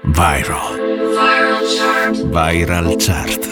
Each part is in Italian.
Viral. Viral Chart. Viral Chart.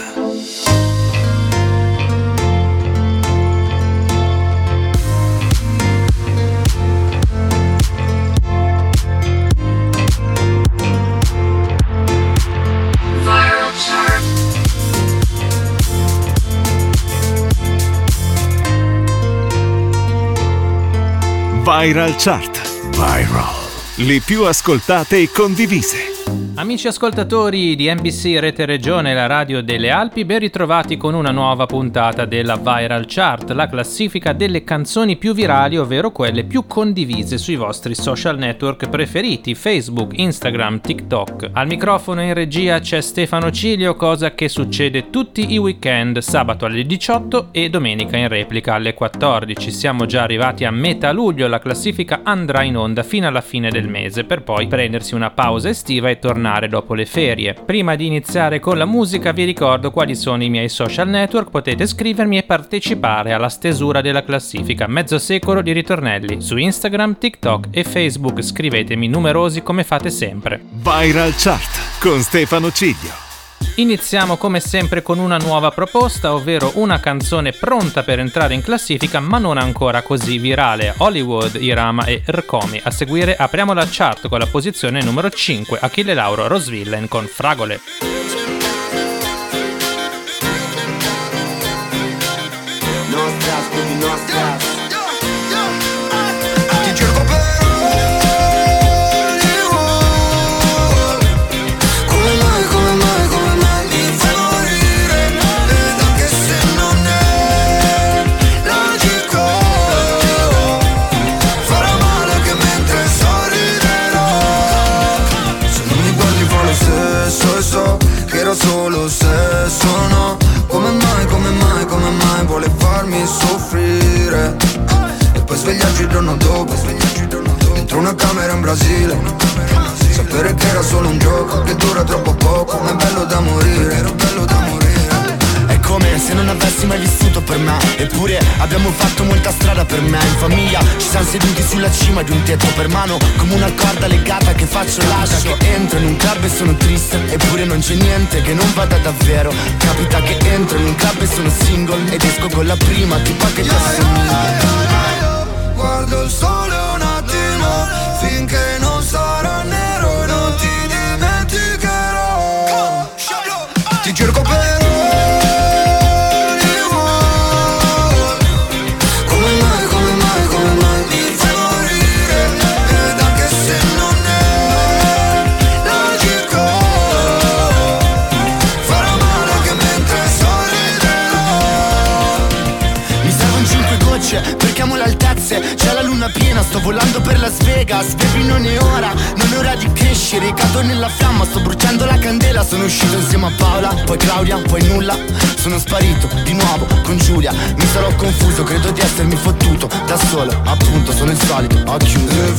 Viral Chart. Viral. Le più ascoltate e condivise. Amici ascoltatori di NBC Rete Regione, la radio delle Alpi, ben ritrovati con una nuova puntata della Viral Chart, la classifica delle canzoni più virali, ovvero quelle più condivise sui vostri social network preferiti, Facebook, Instagram, TikTok. Al microfono in regia c'è Stefano Cilio, cosa che succede tutti i weekend, sabato alle 18 e domenica in replica alle 14. Siamo già arrivati a metà luglio, la classifica andrà in onda fino alla fine del mese, per poi prendersi una pausa estiva e tornare dopo le ferie. Prima di iniziare con la musica vi ricordo quali sono i miei social network, potete scrivermi e partecipare alla stesura della classifica, mezzo secolo di ritornelli. Su Instagram, TikTok e Facebook scrivetemi numerosi come fate sempre. Viral Chart con Stefano Ciglio. Iniziamo come sempre con una nuova proposta, ovvero una canzone pronta per entrare in classifica ma non ancora così virale. Hollywood, Irama e Rkomi. A seguire apriamo la chart con la posizione numero 5, Achille Lauro, Rosvillain con Fragole. Solo se sono come mai vuole farmi soffrire e poi svegliarci il giorno dopo dentro una camera in Brasile, sapere che era solo un gioco che dura troppo poco, ma è bello da morire. È come se non avessi mai vissuto per me, eppure abbiamo fatto molta strada per me. In famiglia ci siamo seduti sulla cima di un tetto per mano, come una corda legata che faccio lascio. Che entro in un club e sono triste, eppure non c'è niente che non vada davvero. Capita che entro in un club e sono single ed esco con la prima tipa che ti assomiglia. Guardo il sole un attimo finché non sarà nero e non ti dimenticherò. Ti cerco per perchiamo le altezze, c'è la luna piena, sto volando per Las Vegas. Baby non è ora di crescere, cado nella fiamma, sto bruciando la candela. Sono uscito insieme a Paola, poi Claudia, poi nulla. Sono sparito di nuovo con Giulia, mi sarò confuso, credo di essermi fottuto da solo, appunto sono il solito, ho chiuso. E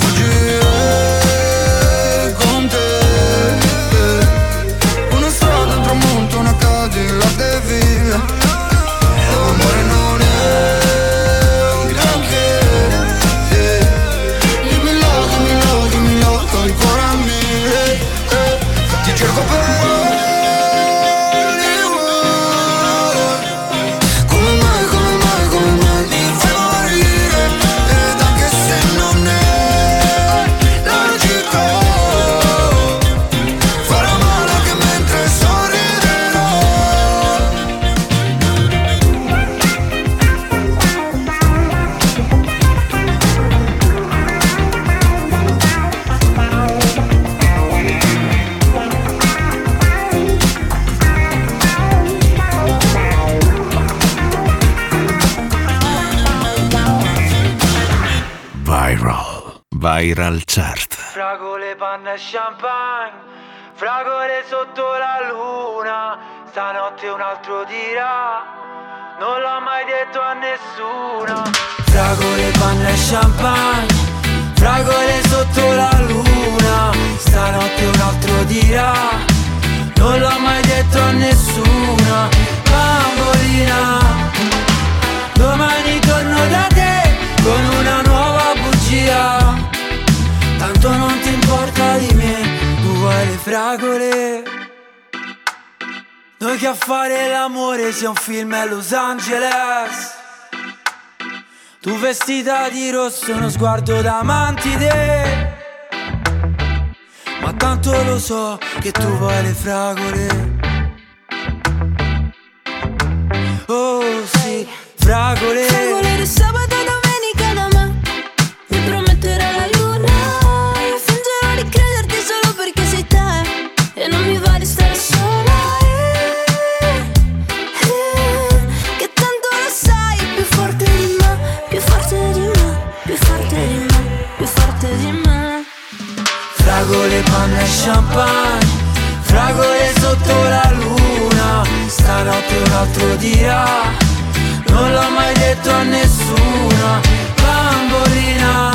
fuggire con te, una strada, un tramonto, una Cadillac e via. L'amore non è ancora a me, ti cerco per come mai mi fai morire, ed anche se non è logico farò male anche mentre sorriderò. Viral Chart. Fragole, panna e champagne, fragole sotto la luna, stanotte un altro dirà, non l'ho mai detto a nessuno. Fragole, panna e champagne, fragole sotto la luna, stanotte un altro dirà, non l'ho mai detto a nessuno. Bambolina, domani torno da te con una nuova bugia, tanto non ti importa di me, tu vuoi le fragole. Noi che a fare l'amore sia un film a Los Angeles. Tu vestita di rosso, uno sguardo da mantide. Ma tanto lo so che tu vuoi le fragole. Oh sì, fragole. Fragole di sabato e domenica da me. Mi prometterà la luna. Io fingerò di crederti solo perché sei te. E non mi va di stare sola. Che tanto lo sai, più forte di me. Più forte di me, più forte di me, più forte di me. Fragole, panna e champagne. Fragole sotto la luna. Stanotte un altro dirà. Non l'ho mai detto a nessuna. Bambolina,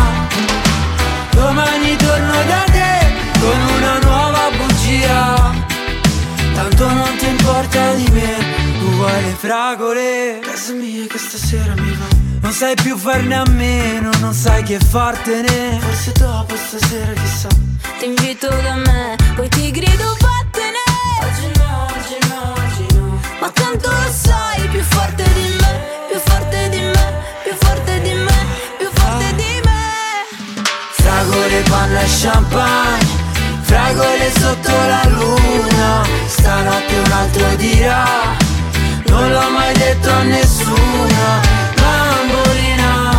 domani torno da te con una nuova bugia. Tanto non ti importa di me. Tu vuoi le fragole. Casa mia che stasera mi va. Non sai più farne a meno, non sai che fartene. Forse dopo stasera chissà. Ti invito da me, poi ti grido vattene. Oggi no, oggi no, oggi no. Ma tanto lo sai, più forte di me, più forte di me, più forte di me, più forte di me. Fragole, panna e champagne. Fragole sotto la luna. Stanotte un altro dirà. Non l'ho mai detto a nessuna. Bambolina,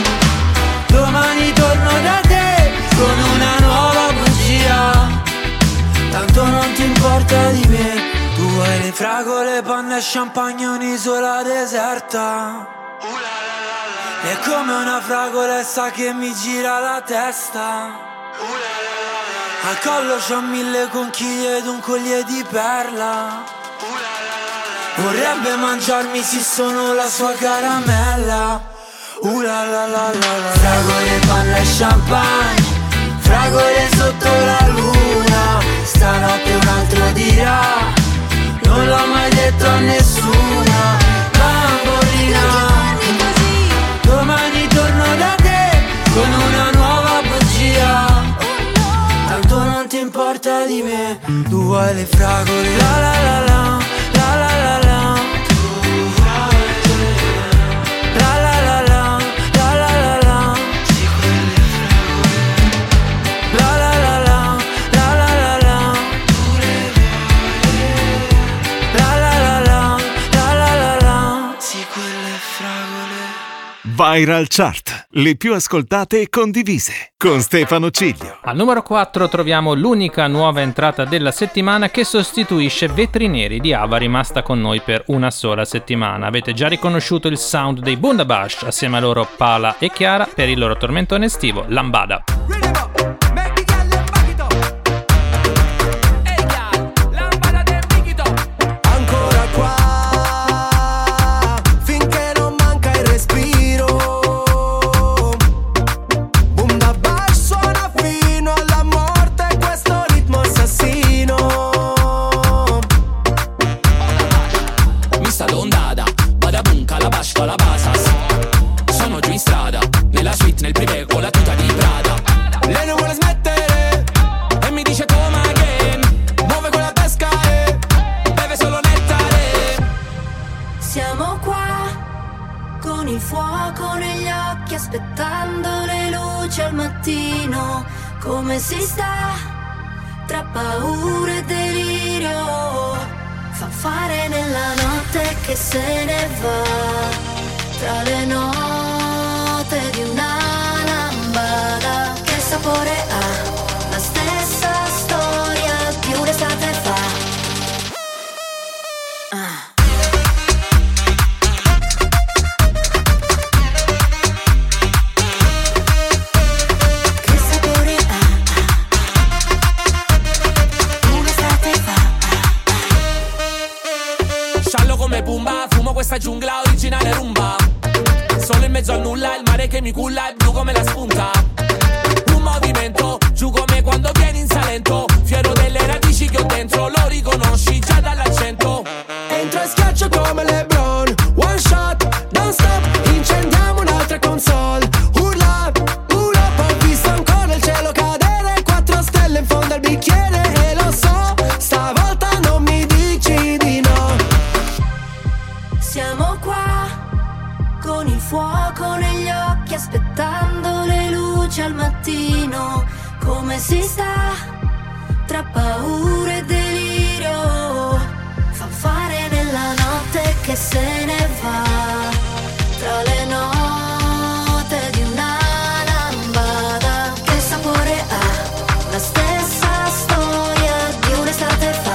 domani torno da te con una nuova bugia. Tanto non ti importa di me. Tu vuoi le fragole, panna e champagne, un'isola deserta. È come una fragolessa che mi gira la testa. Al collo c'ho 1000 conchiglie ed un collier di perla. Vorrebbe mangiarmi se sono la sua caramella. La la la la la. Fragole, panna e champagne. Fragole sotto la luna. Stanotte un altro dirà. Non l'ho mai detto a nessuna. Bambolina, domani torno da te con una nuova bugia. Tanto non ti importa di me. Tu vuoi le fragole. La la la la. La la la la. La la la la. La la la la. Sì, quelle fragole. La la la la. La la la la. La la la la. La la la la. Sì, quelle fragole. Viral Chart, le più ascoltate e condivise, con Stefano Ciglio. Al numero 4 troviamo l'unica nuova entrata della settimana che sostituisce Vetri Neri di Ava, rimasta con noi per una sola settimana. Avete già riconosciuto il sound dei Bundabash, assieme a loro Pala e Chiara per il loro tormentone estivo Lambada. Come si sta tra paura e delirio, fa fare nella notte che se ne va, tra le note di una lambada. Che sapore ha la stessa storia di un'estate fa. Questa giungla originale rumba, solo in mezzo al nulla, il mare che mi culla è blu come la spunta. Un movimento, giù come quando vieni in Salento, fiero delle radici che ho dentro, lo riconosci già dall'accento. Entro e schiaccio come LeBron, one shot, don't stop, incendiamo un'altra console. Urla, urla, ho visto ancora il cielo cadere, 4 stelle in fondo al bicchiere e lo so. si sta tra paura e delirio, fanfare nella notte che se ne va, tra le note di una lambada. Che sapore ha la stessa storia di un'estate fa.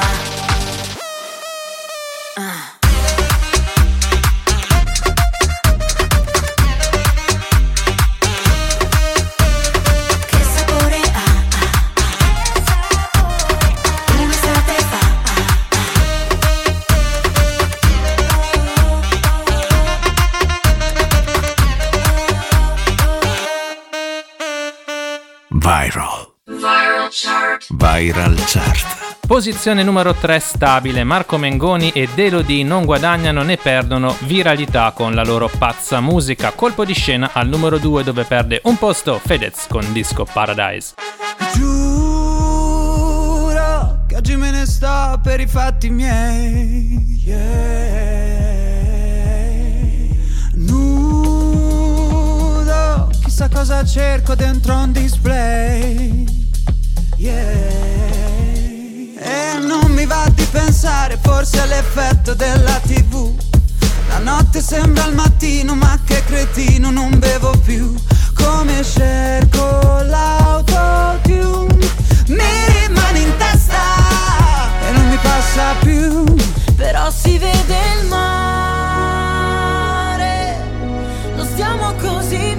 Viral Chart. Posizione numero 3 stabile, Marco Mengoni ed Elodie non guadagnano né perdono viralità con la loro pazza musica. Colpo di scena al numero 2 dove perde un posto Fedez con Disco Paradise. Giuro che oggi me ne sto per i fatti miei, nudo, chissà cosa cerco dentro un display, e non mi va di pensare, forse è l'effetto della TV. La notte sembra il mattino, ma che cretino, non bevo più. Come cerco l'autotune, mi rimane in testa e non mi passa più. Però si vede il mare, non stiamo così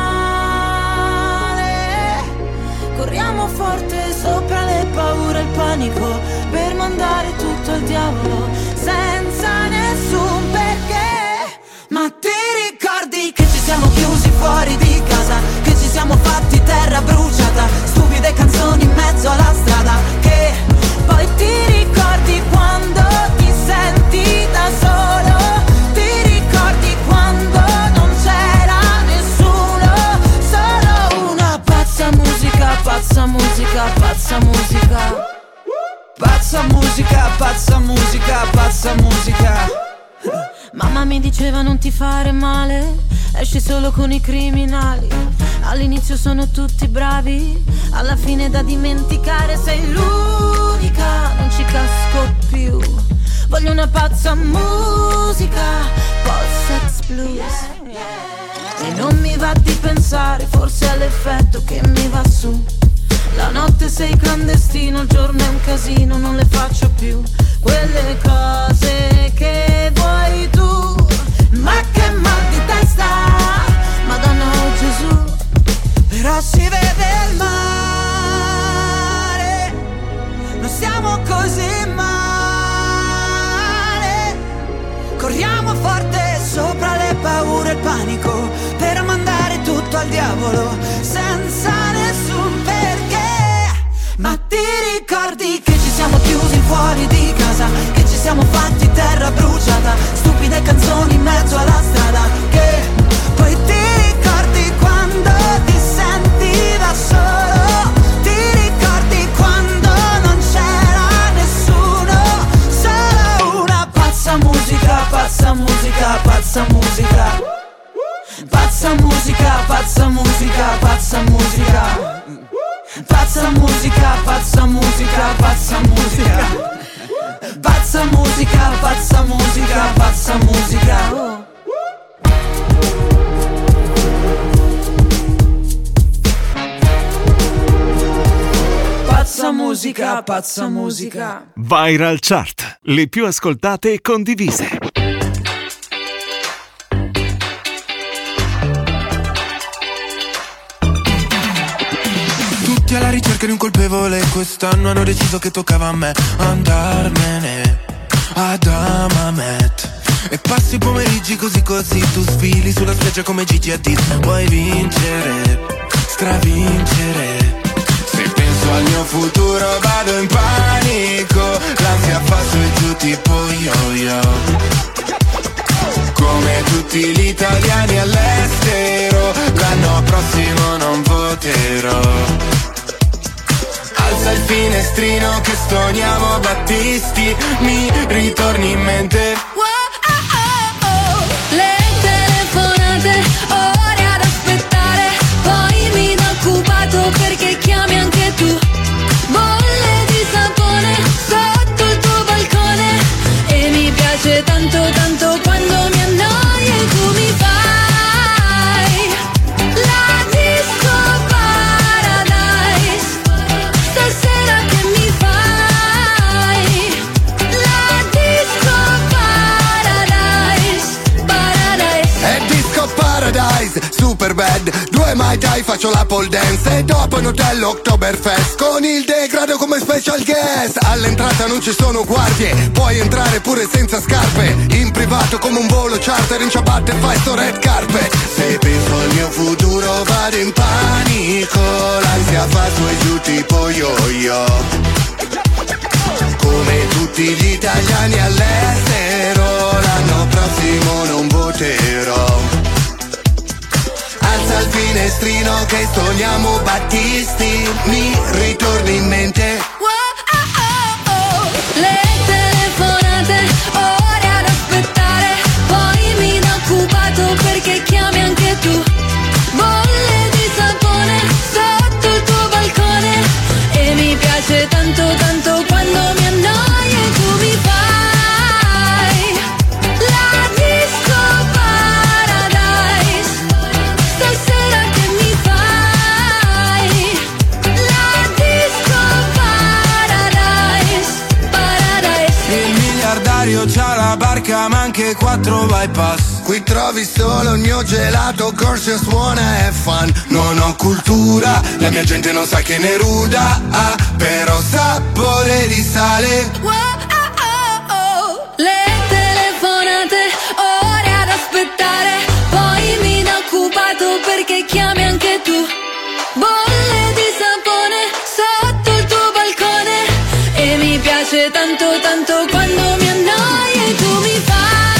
male. Corriamo forte sopra le paure e il panico, per mandare tutto al diavolo senza nessun perché. Ma ti ricordi che ci siamo chiusi fuori di casa, che ci siamo fatti terra bruciata, stupide canzoni in mezzo alla strada, che poi ti ricordi quando ti senti da solo, ti ricordi quando non c'era nessuno, solo una pazza musica, pazza musica, pazza musica. Pazza musica, pazza musica, pazza musica. Mamma mi diceva non ti fare male, esci solo con i criminali. All'inizio sono tutti bravi, alla fine da dimenticare sei l'unica, non ci casco più. Voglio una pazza musica, post-sex blues. E non mi va di pensare, forse è l'effetto che mi va su. La notte sei clandestino, il giorno è un casino, non le faccio più quelle cose che vuoi tu. Ma che mal di testa, Madonna o Gesù. Però si vede il mare, non siamo così male. Corriamo forte sopra le paure e il panico, per mandare tutto al diavolo senza nessun perché. Ma ti ricordi che ci siamo chiusi fuori di casa, che ci siamo fatti terra bruciata, stupide canzoni in mezzo alla strada, che poi ti ricordi quando ti senti da solo, ti ricordi quando non c'era nessuno, solo una pazza musica, pazza musica, pazza musica. Pazza musica, pazza musica, pazza musica. Pazza musica, pazza musica, pazza musica. Pazza musica, pazza musica, pazza musica. Pazza musica, pazza musica. Viral Chart, le più ascoltate e condivise. Tutti alla ricerca di un colpevole, quest'anno hanno deciso che toccava a me andarmene ad Amamet. E passi i pomeriggi così così, tu sfili sulla spiaggia come Gigi Hadid. Vuoi vincere, stravincere. Se penso al mio futuro vado in panico, l'ansia fa su e giù tipo yo-yo. Come tutti gli italiani all'estero, l'anno prossimo non voterò. Alza il finestrino che stoniamo Battisti, mi ritorni in mente. Le telefonate, ore ad aspettare, poi mi do occupato perché chiami anche tu. bed, 2 Mai Tai, faccio la pole dance e dopo in hotel Oktoberfest con il degrado come special guest. All'entrata non ci sono guardie, puoi entrare pure senza scarpe, in privato come un volo charter, in ciabatte fai sto red carpet. Se penso al mio futuro vado in panico, l'ansia fa su e giù tipo yo-yo. Come tutti gli italiani all'estero, l'anno prossimo non voterò. Alza il finestrino che stoniamo Battisti, mi ritorni in mente. Le telefonate, ore ad aspettare, poi mi da occupato perché chiami anche tu. Bolle di sapone sotto il tuo balcone e mi piace tanto tanto quando mi annoio e tu mi fai la disco paradise. Stasera che mi fai la disco paradise, paradise. Il miliardario c'ha la barca ma anche 4 bypass. Qui trovi solo il mio gelato, corso suona e fan. Non ho cultura, la mia gente non sa che ne ruda, però sapore di sale. Le telefonate, ore ad aspettare, poi mi da occupato perché chiami anche tu. Bolle di sapone sotto il tuo balcone e mi piace tanto tanto quando mi annoio e tu mi fai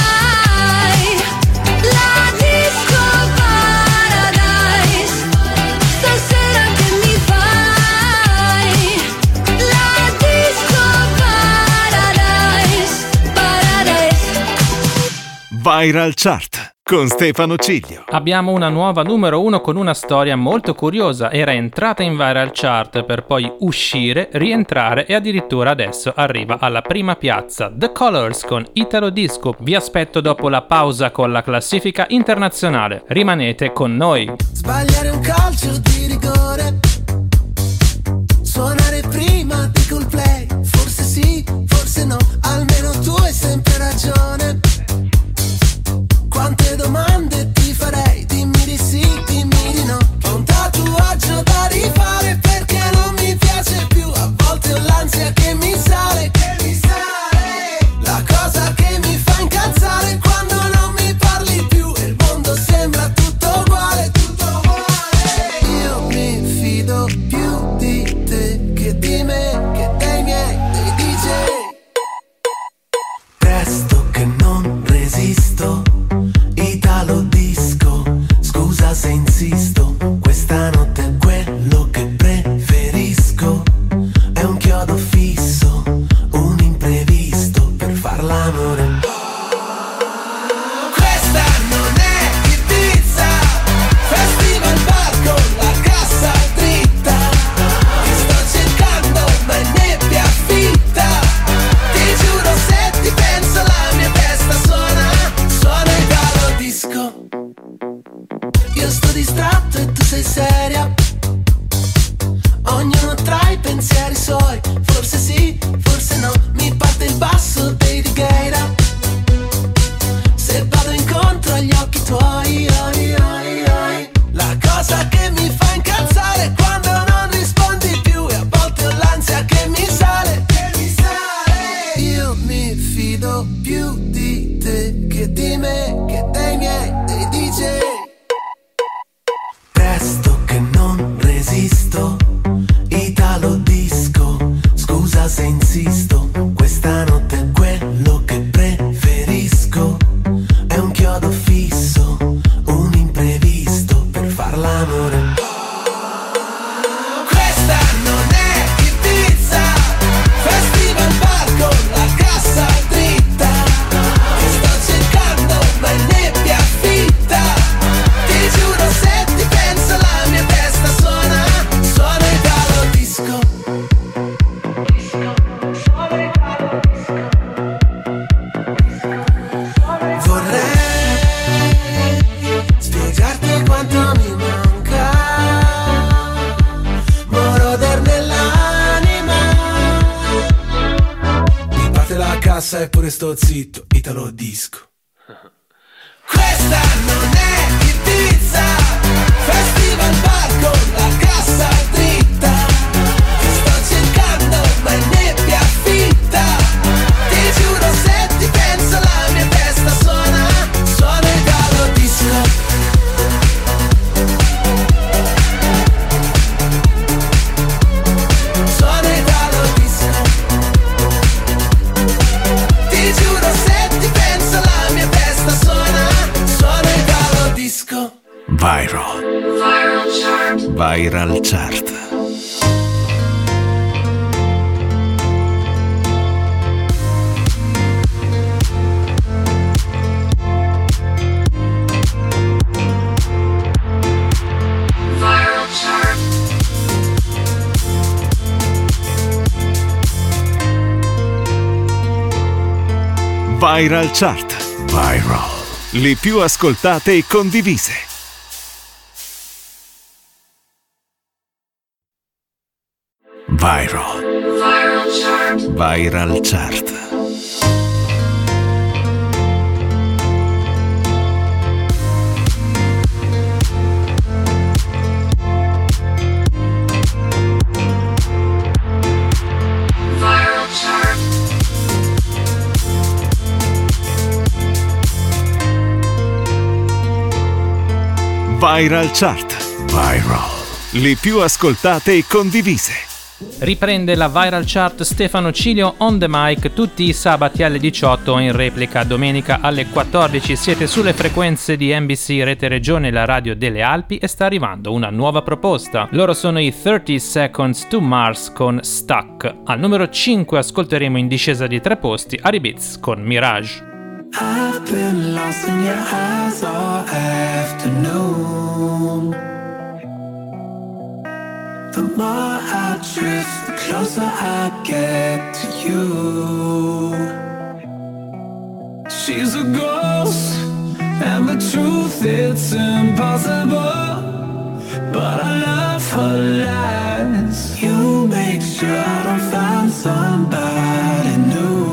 la disco paradise. Stasera che mi fai la disco paradise, paradise. Viral Chart con Stefano Ciglio. Abbiamo una nuova numero 1 con una storia molto curiosa. Era entrata in Viral Chart per poi uscire, rientrare e addirittura adesso arriva alla prima piazza. The Colors con Italo Disco. Vi aspetto dopo la pausa con la classifica internazionale. Rimanete con noi. Sbagliare un calcio di rigore, suonare prima di Coldplay. Forse sì, forse no, almeno tu hai sempre ragione. Quante domande ti farei, dimmi di sì, dimmi di no. Ho un tatuaggio da rifare perché non mi piace più. A volte ho l'ansia che mi sale, la cosa che mi fa incazzare quando non mi parli più e il mondo sembra tutto uguale, tutto uguale. Io mi fido più di te che di me, che dei miei, dei DJ. Presto che non resisto, Italo Disco, scusa se insisto, questa notte è quello che preferisco. È un chiodo fisso, un imprevisto per far l'amore. Questa non è Ibiza, festival bar con la cassa dritta. Ti sto cercando ma è nebbia fitta. Ti giuro se ti penso la mia testa suona Italo Disco. Io sto distratto e tu sei seria, ognuno tra i pensieri suoi. Forse sì, forse no, mi parte il basso dei Righeira. Se vado incontro agli occhi tuoi, la cosa che mi fa incazzare è quando non rispondi più e a volte ho l'ansia che mi sale. Io mi fido più di te che di me, che dei miei, dei DJ. Presto che non resisto, Italo Disco, scusa se insisto, questa notte è quello che preferisco. È un chiodo fisso, un imprevisto per far l'amore. Questa non è Ibiza, festival bar con la cassa dritta. Ti sto cercando ma è nebbia fitta. Ti giuro se ti penso la mia testa suona Italo Disco. Vorrei spiegarti quanto mi manca, moroder nell'anima. Mi parte la cassa eppure sto zitto, Italo Disco. Questa non è Ibiza, Festival bar con la cassa dritta, ti sto cercando ma è nebbia fitta. Ti giuro se ti penso la mia testa suona Italo disco. Suona Italo disco. Ti giuro se ti penso la mia testa suona Italo disco. Viral Chart. Viral Chart. Viral Chart. Viral. Le più ascoltate e condivise. Viral. Viral Chart. Viral Chart. Viral Chart. Viral. Le più ascoltate e condivise. Riprende la Viral Chart Stefano Cilio on the mic tutti i sabati alle 18 in replica domenica alle 14. Siete sulle frequenze di NBC Rete Regione, la radio delle Alpi, e sta arrivando una nuova proposta. Loro sono i 30 Seconds to Mars con Stuck. Al numero 5 ascolteremo in discesa di 3 posti Ari Beats con Mirage. I've been lost in your eyes all afternoon. The more I drift, the closer I get to you. She's a ghost, and the truth, it's impossible. But I love her lies. You make sure I don't find somebody new.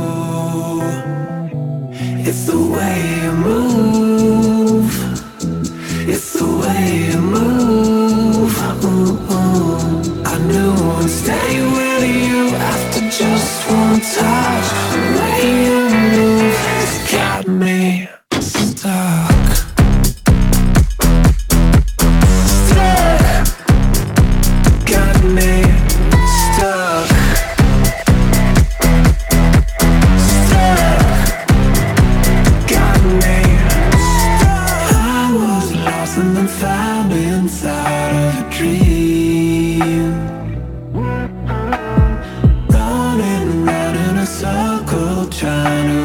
It's the way you move. It's the way you move. I knew I'd stay with you after just one touch. The way you move has got me stuck. Stuck. Got me stuck. And then found inside of a dream, running round in a circle trying to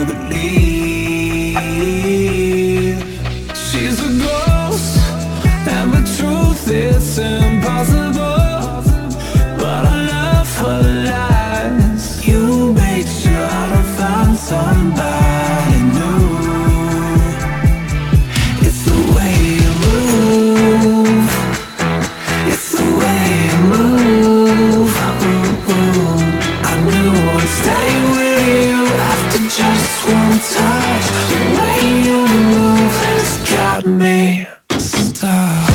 believe. She's a ghost, and the truth is impossible. But I love her lies. You make sure I don't find somebody new. It's the way you move. It's the way you move. I knew I'd stay with you after just one touch. The way you move has got me stuck.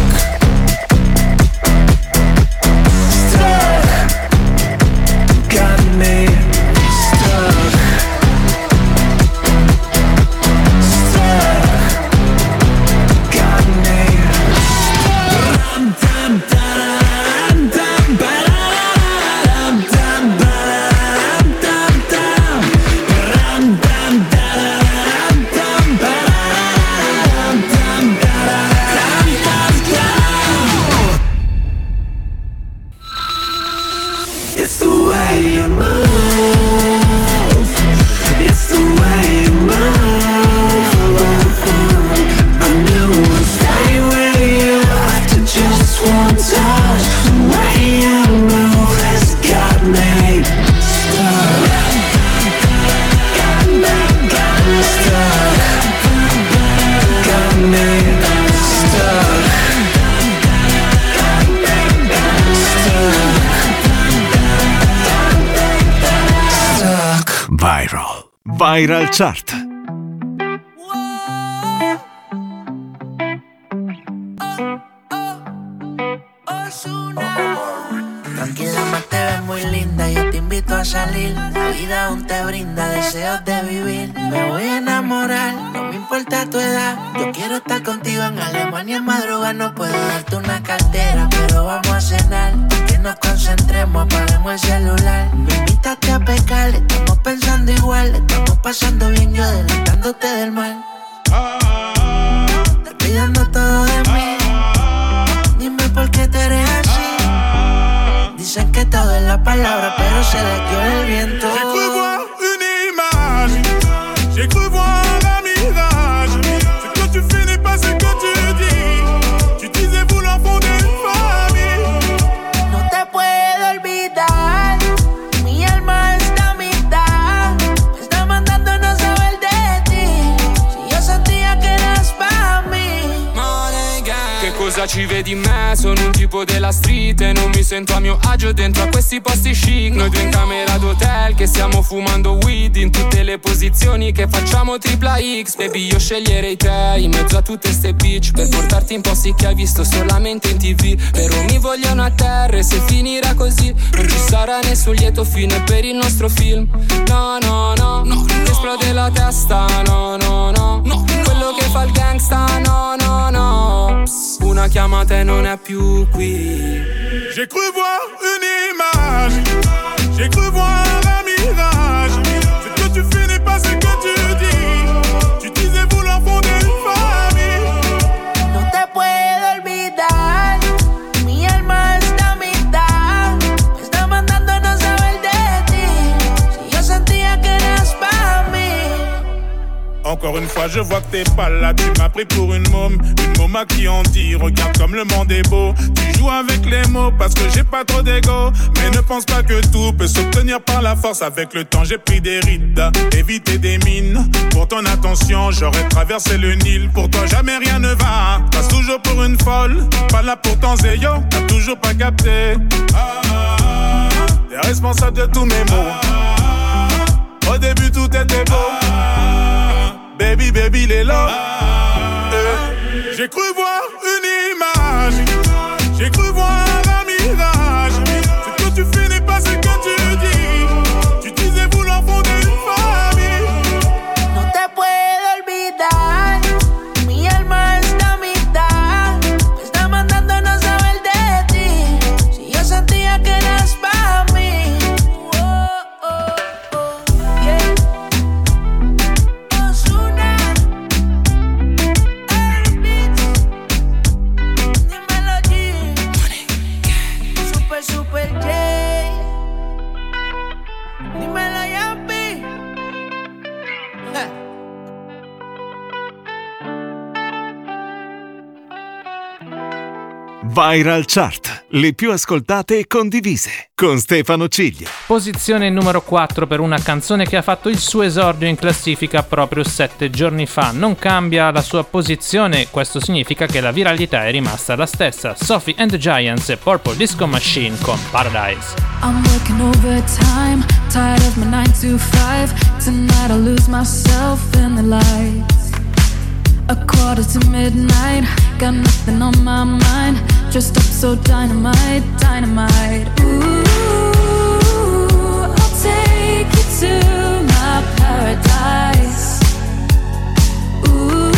Stuck. Got me stuck. Stuck. Got me. Dum dum dum dum dum dum dum dum dum dum dum It's the way you move. It's the way you move. I knew I'd stay with you after just one touch. The way you move has got me stuck. Got me stuck. Got me stuck. Viral. Viral Chart. a salir. La vida aún te brinda deseos de vivir. Me voy a enamorar, no me importa tu edad. Yo quiero estar contigo en Alemania en madrugada. No puedo darte una cartera, pero vamos a cenar. Que nos concentremos, apaguemos el celular. Me invitaste a pecar, estamos pensando igual. Estamos pasando bien, yo adelantándote del mal. Te pidiendo todo de mí. Dime por qué te eres así. Dicen que todo es la palabra, pero se les dio el viento. J'ai cru voir une image, j'ai cru voir un mirage. Ce que tu fais n'est pas ce que tu dis. Tu disais vouloir fonder une famille. No te puedo olvidar, mi alma está a mitad. Me está mandando no saber de ti. Si yo sentía que eras pa' mí. Che cosa ci vedi in me? Sono un tipo della street e non mi sento a mio agio dentro a questi posti chic. Noi due in camera d'hotel che stiamo fumando weed in tutte le posizioni che facciamo tripla X. Baby, io sceglierei te in mezzo a tutte ste bitch per portarti in posti che hai visto solamente in TV. Però mi vogliono a terra e se finirà così non ci sarà nessun lieto fine per il nostro film. No, no, no, no, no. Esplode la testa, no, no, no, no. Quello che fa il gangsta, no, no, no. Psst, una chiamata e non è più qui. J'ai cru voir une image, j'ai cru voir un mirage. Ce que tu fais n'est pas ce que tu dis. Tu disais vouloir fonder une famille. No te puedo olvidar, mi alma está a mitad. Me está mandando no saber de ti. Si yo sentía que eras pa' mí. Encore une fois je vois que t'es pas là. Tu m'as pris pour une môme à qui on dit. Regarde comme le monde est beau. Tu joues avec les mots parce que j'ai pas trop d'ego. Mais ne pense pas que tout peut s'obtenir par la force. Avec le temps j'ai pris des rides, éviter des mines. Pour ton attention j'aurais traversé le Nil. Pour toi jamais rien ne va. Passe toujours pour une folle. Pas là pour ton zéyo, t'as toujours pas capté. T'es responsable de tous mes mots. Au début tout était beau. Baby, baby, les lots. J'ai cru voir une image, j'ai cru voir un mirage. Ce que tu fais n'est pas ce que tu dis. Tu disais vouloir fonder une famille. No te puedo olvidar, mi alma está a mitad. Me está mandando no saber de ti. Si yo sentía que eras pa' mí. Oh, oh, oh, yeah. Ozuna, el beat. Dímelo G. Super, super J. Dímelo Yampi. Viral Chart, le più ascoltate e condivise, con Stefano Ciglio. Posizione numero 4 per una canzone che ha fatto il suo esordio in classifica proprio 7 giorni fa. Non cambia la sua posizione, questo significa che la viralità è rimasta la stessa. Sophie and the Giants e Purple Disco Machine con Paradise. I'm working overtime, tired of my 9 to 5. Tonight I'll lose myself in the lights. A quarter to midnight, got nothing on my mind. Dressed up so dynamite, dynamite. Ooh, I'll take you to my paradise. Ooh,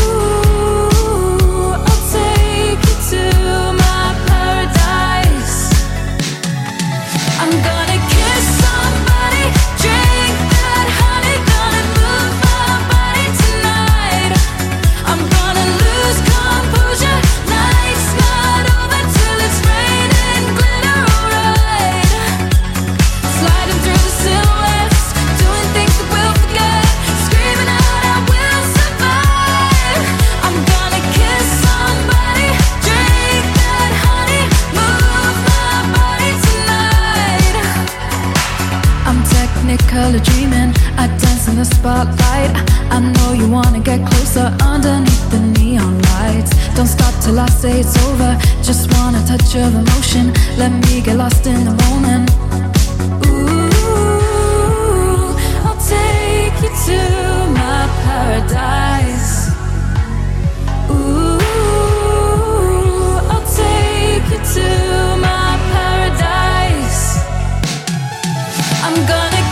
I'll take you to my paradise. I'm gonna kiss somebody, drink that honey, gonna move my body tonight. I'm gonna lose composure, night's not over till it's raining glitter, alright. Sliding through the silhouettes, doing things that we'll forget, screaming out I will survive. I'm gonna kiss somebody, drink that honey, move my body tonight. I'm technicolor dreaming, I dance in the spotlight. I know you wanna get closer underneath the neon lights. Don't stop till I say it's over, just want a touch of emotion. Let me get lost in the moment. Ooh, I'll take you to my paradise. Ooh, I'll take you to my paradise. I'm gonna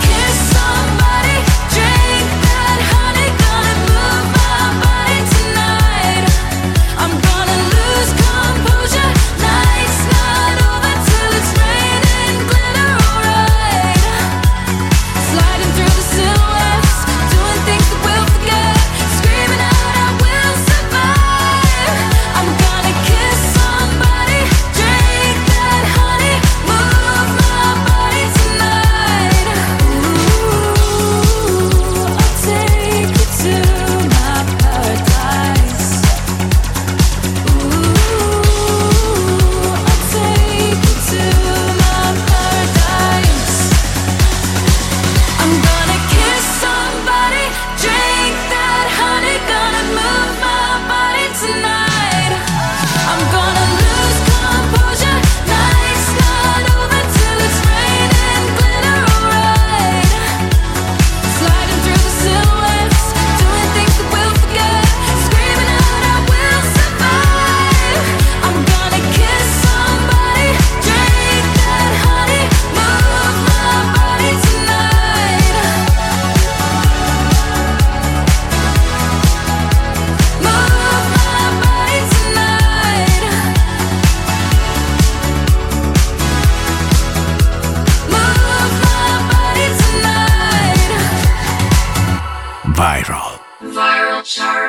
Viral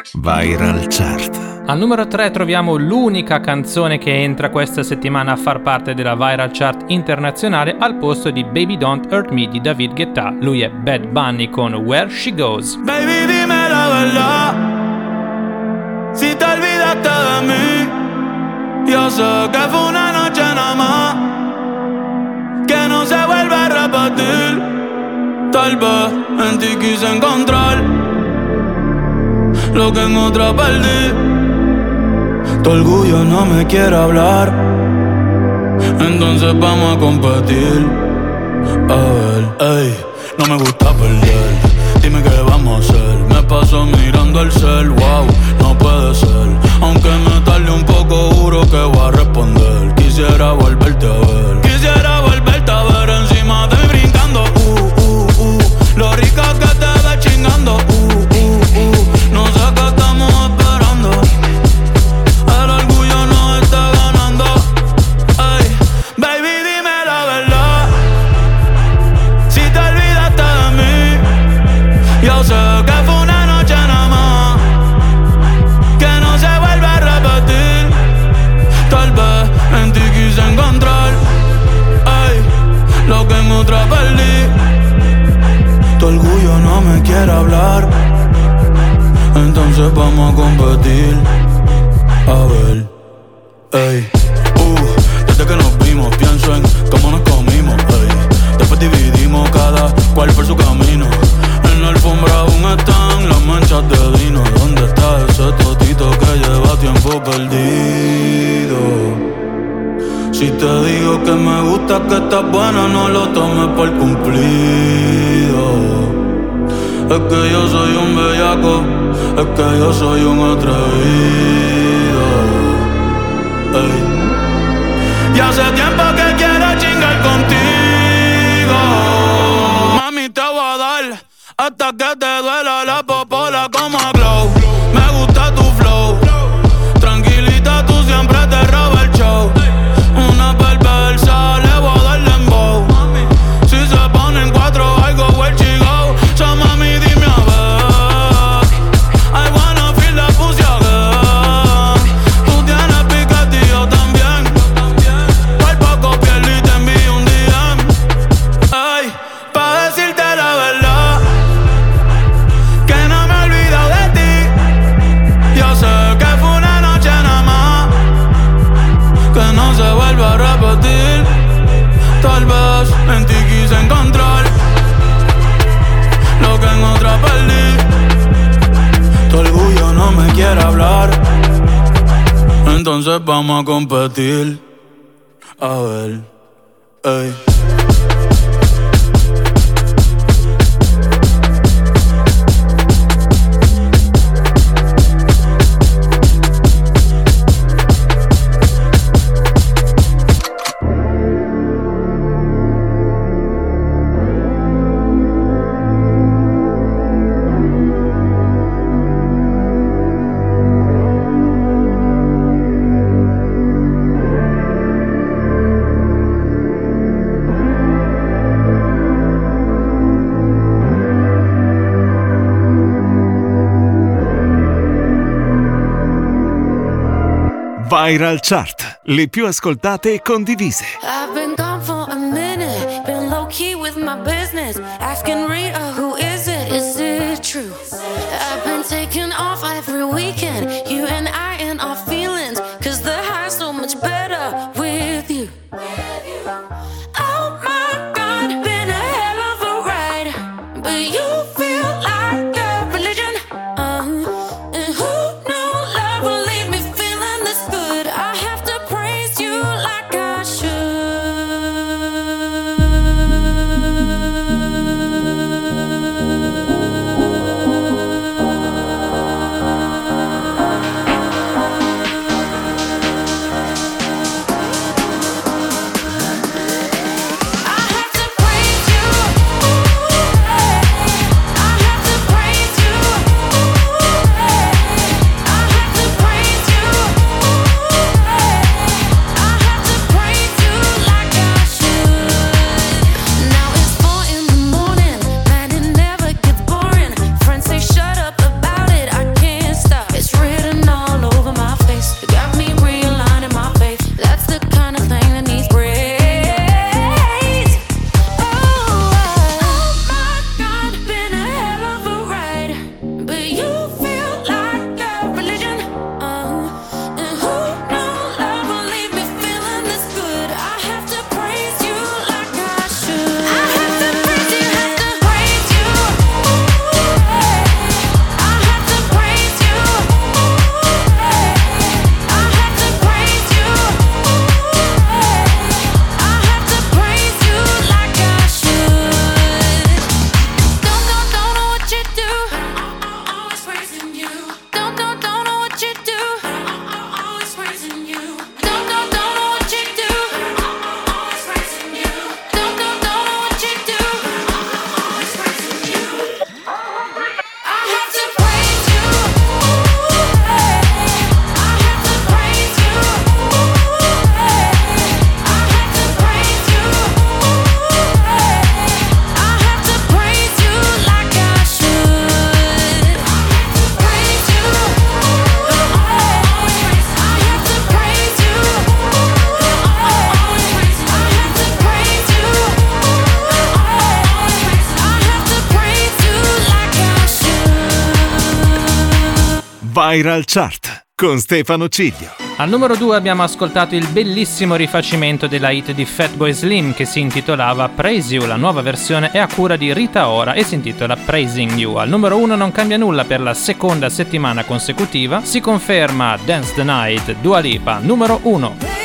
Chart. Al numero 3 troviamo l'unica canzone che entra questa settimana a far parte della Viral Chart internazionale al posto di Baby Don't Hurt Me di David Guetta. Lui è Bad Bunny con Where She Goes. Baby, dime la verdad, si te olvidaste de mí. Yo sé que fue una noche nada más, que no se vuelve a repetir. Tal vez en ti quise encontrar lo que en otra perdí. Tu orgullo no me quiere hablar, entonces vamos a competir. A ver, ey, no me gusta perder. Dime qué vamos a hacer. Me paso mirando el cel, wow, no puede ser. Aunque me tarde un poco, juro que voy a responder. Quisiera volverte a ver. Quisiera volverte a ver encima de mí brincando. Lo rica que te ves chingando. No sé qué estamos esperando. El orgullo nos está ganando. Ey, baby, dime la verdad, si te olvidaste de mí. Yo sé que fue una noche nada más, que no se vuelve a repetir. Tal vez en ti quise encontrar, ey, lo que en otra perdí. Tu orgullo no me quiere hablar, entonces vamos a competir. A ver, ey, desde que nos vimos pienso en cómo nos comimos, ey. Después dividimos cada cual por su camino. En la alfombra aún están las manchas de vino. ¿Dónde está ese totito que lleva tiempo perdido? Si te digo que me gusta, que estás buena, no lo tomes por cumplido. Es que yo soy un bellaco, es que yo soy un atrevido. Ey. Y hace tiempo que quiero chingar contigo. Mami, te voy a dar hasta que te duela la popola como a Glow. Me gusta tu flow, tranquilita, tú siempre te robas el show. Una perversa, le voy a dar dembow. Si se ponen cuatro, I go where she go. So mami, dime a ver, I wanna feel the pussy again. Tú tienes piquete y yo también. Por poco pierdo y te envío un DM. Ay, pa' decirte la verdad, que no me he olvidado de ti. Yo sé que fue una noche nada más, que no se vuelve a repetir. Tal vez en ti quise encontrar lo que en otra perdí. Tu orgullo no me quiere hablar, entonces vamos a competir. A ver, ey. Viral Chart, le più ascoltate e condivise. I've been gone for a minute, been low key with my business, asking Rita, who is it? Is it true? I've been taking off every weekend, you and I and our feelings, cause the high's so much better with you. Oh my God, been a hell of a ride, but you feel like a religion. And who knew love would leave me feeling this good? I have to praise you like I should. Viral Chart con Stefano Ciglio. Al numero 2 abbiamo ascoltato il bellissimo rifacimento della hit di Fatboy Slim che si intitolava Praise You. La nuova versione è a cura di Rita Ora e si intitola Praising You. Al numero 1 non cambia nulla per la seconda settimana consecutiva, si conferma Dance the Night, Dua Lipa, numero 1.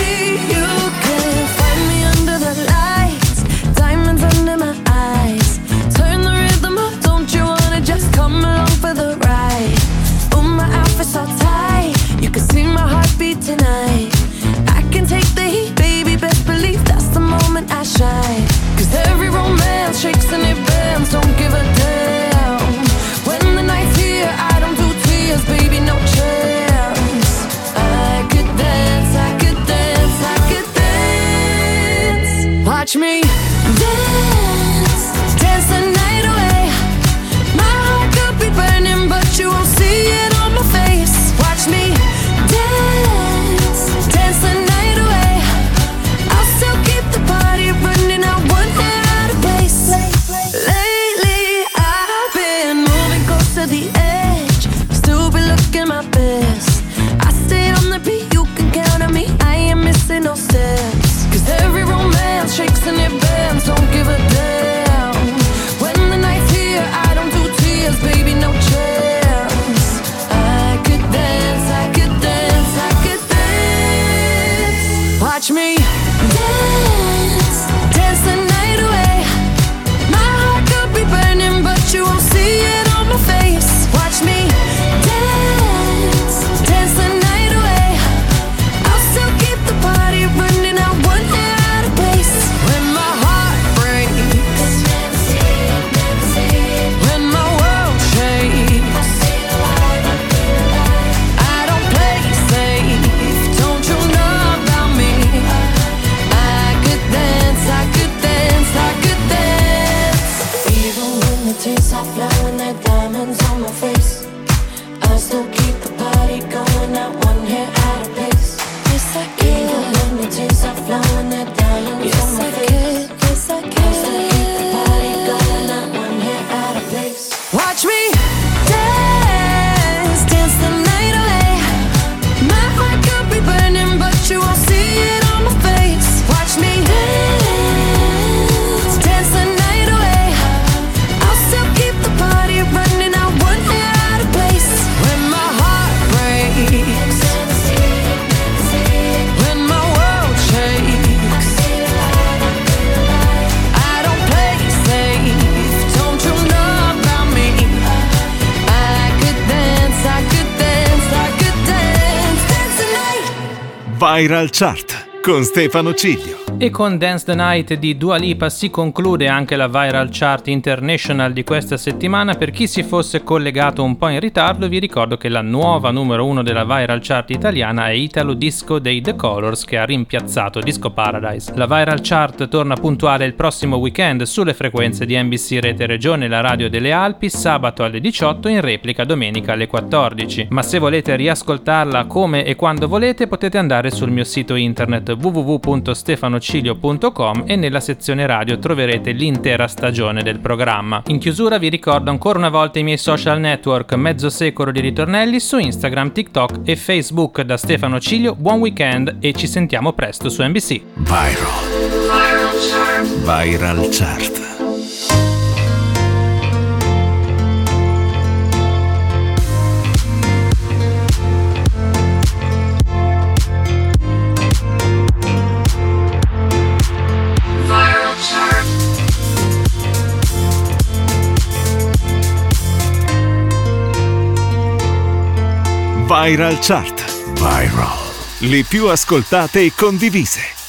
Tonight I can take the heat, baby, best believe that's the moment I shine. Cause every romance shakes and it bends, don't give a damn. When the night's here, I don't do tears, baby, no chance. I could dance, I could dance, I could dance. Watch me dance, dance the night away. My heart could be burning, but you won't see it on my face. Watch me dance, dance the night away. I'll still keep the party running, I won't get out of place. Lately I've been moving close to the edge, still be looking my best. I stay on the beat, you can count on me, I ain't missing no steps. Cause every romance shakes and it bends, don't give a damn. When the night's here, I don't do tears, baby, no chance. I could dance, I could dance, I could dance. Watch me dance, dance the night away. My heart could be burning, but you won't see it on my face. Watch me dance, dance the night away. I'll still keep the party running, I won't get out of place. When my heart breaks, when my world shakes, I don't play safe, don't you know about me? I could dance, I could dance, I could dance. Even when the tears are flowing, there diamonds on my face, I still keep the party going, not one hair out of place. Yes, I can. Even when the tears are flowing, there diamonds on my face, yes, I can. I still keep the party going, not one hair out of place. Watch me dance, dance the night away. My heart could be burning, but you won't see it on my face. Watch me dance, dance the night away. I'll still keep the party running, I won't get out of place. When my heart breaks, when my world shakes, I don't play safe, don't you know about me? I could dance, I could dance, I could dance, dance the night. Viral Chart con Stefano Ciglio. E con Dance the Night di Dua Lipa si conclude anche la Viral Chart International di questa settimana. Per chi si fosse collegato un po' in ritardo, vi ricordo che la nuova numero 1 della Viral Chart italiana è Italo Disco dei The Colors, che ha rimpiazzato Disco Paradise. La Viral Chart torna puntuale il prossimo weekend sulle frequenze di NBC Rete Regione, la radio delle Alpi, sabato alle 18, in replica domenica alle 14. Ma se volete riascoltarla come e quando volete, potete andare sul mio sito internet www.stefanocilio.com e nella sezione radio troverete l'intera stagione del programma. In chiusura vi ricordo ancora una volta i miei social network, mezzo secolo di ritornelli su Instagram, TikTok e Facebook. Da Stefano Ciglio, buon weekend e ci sentiamo presto su NBC. Viral Chart. Viral Chart. Viral. Le più ascoltate e condivise.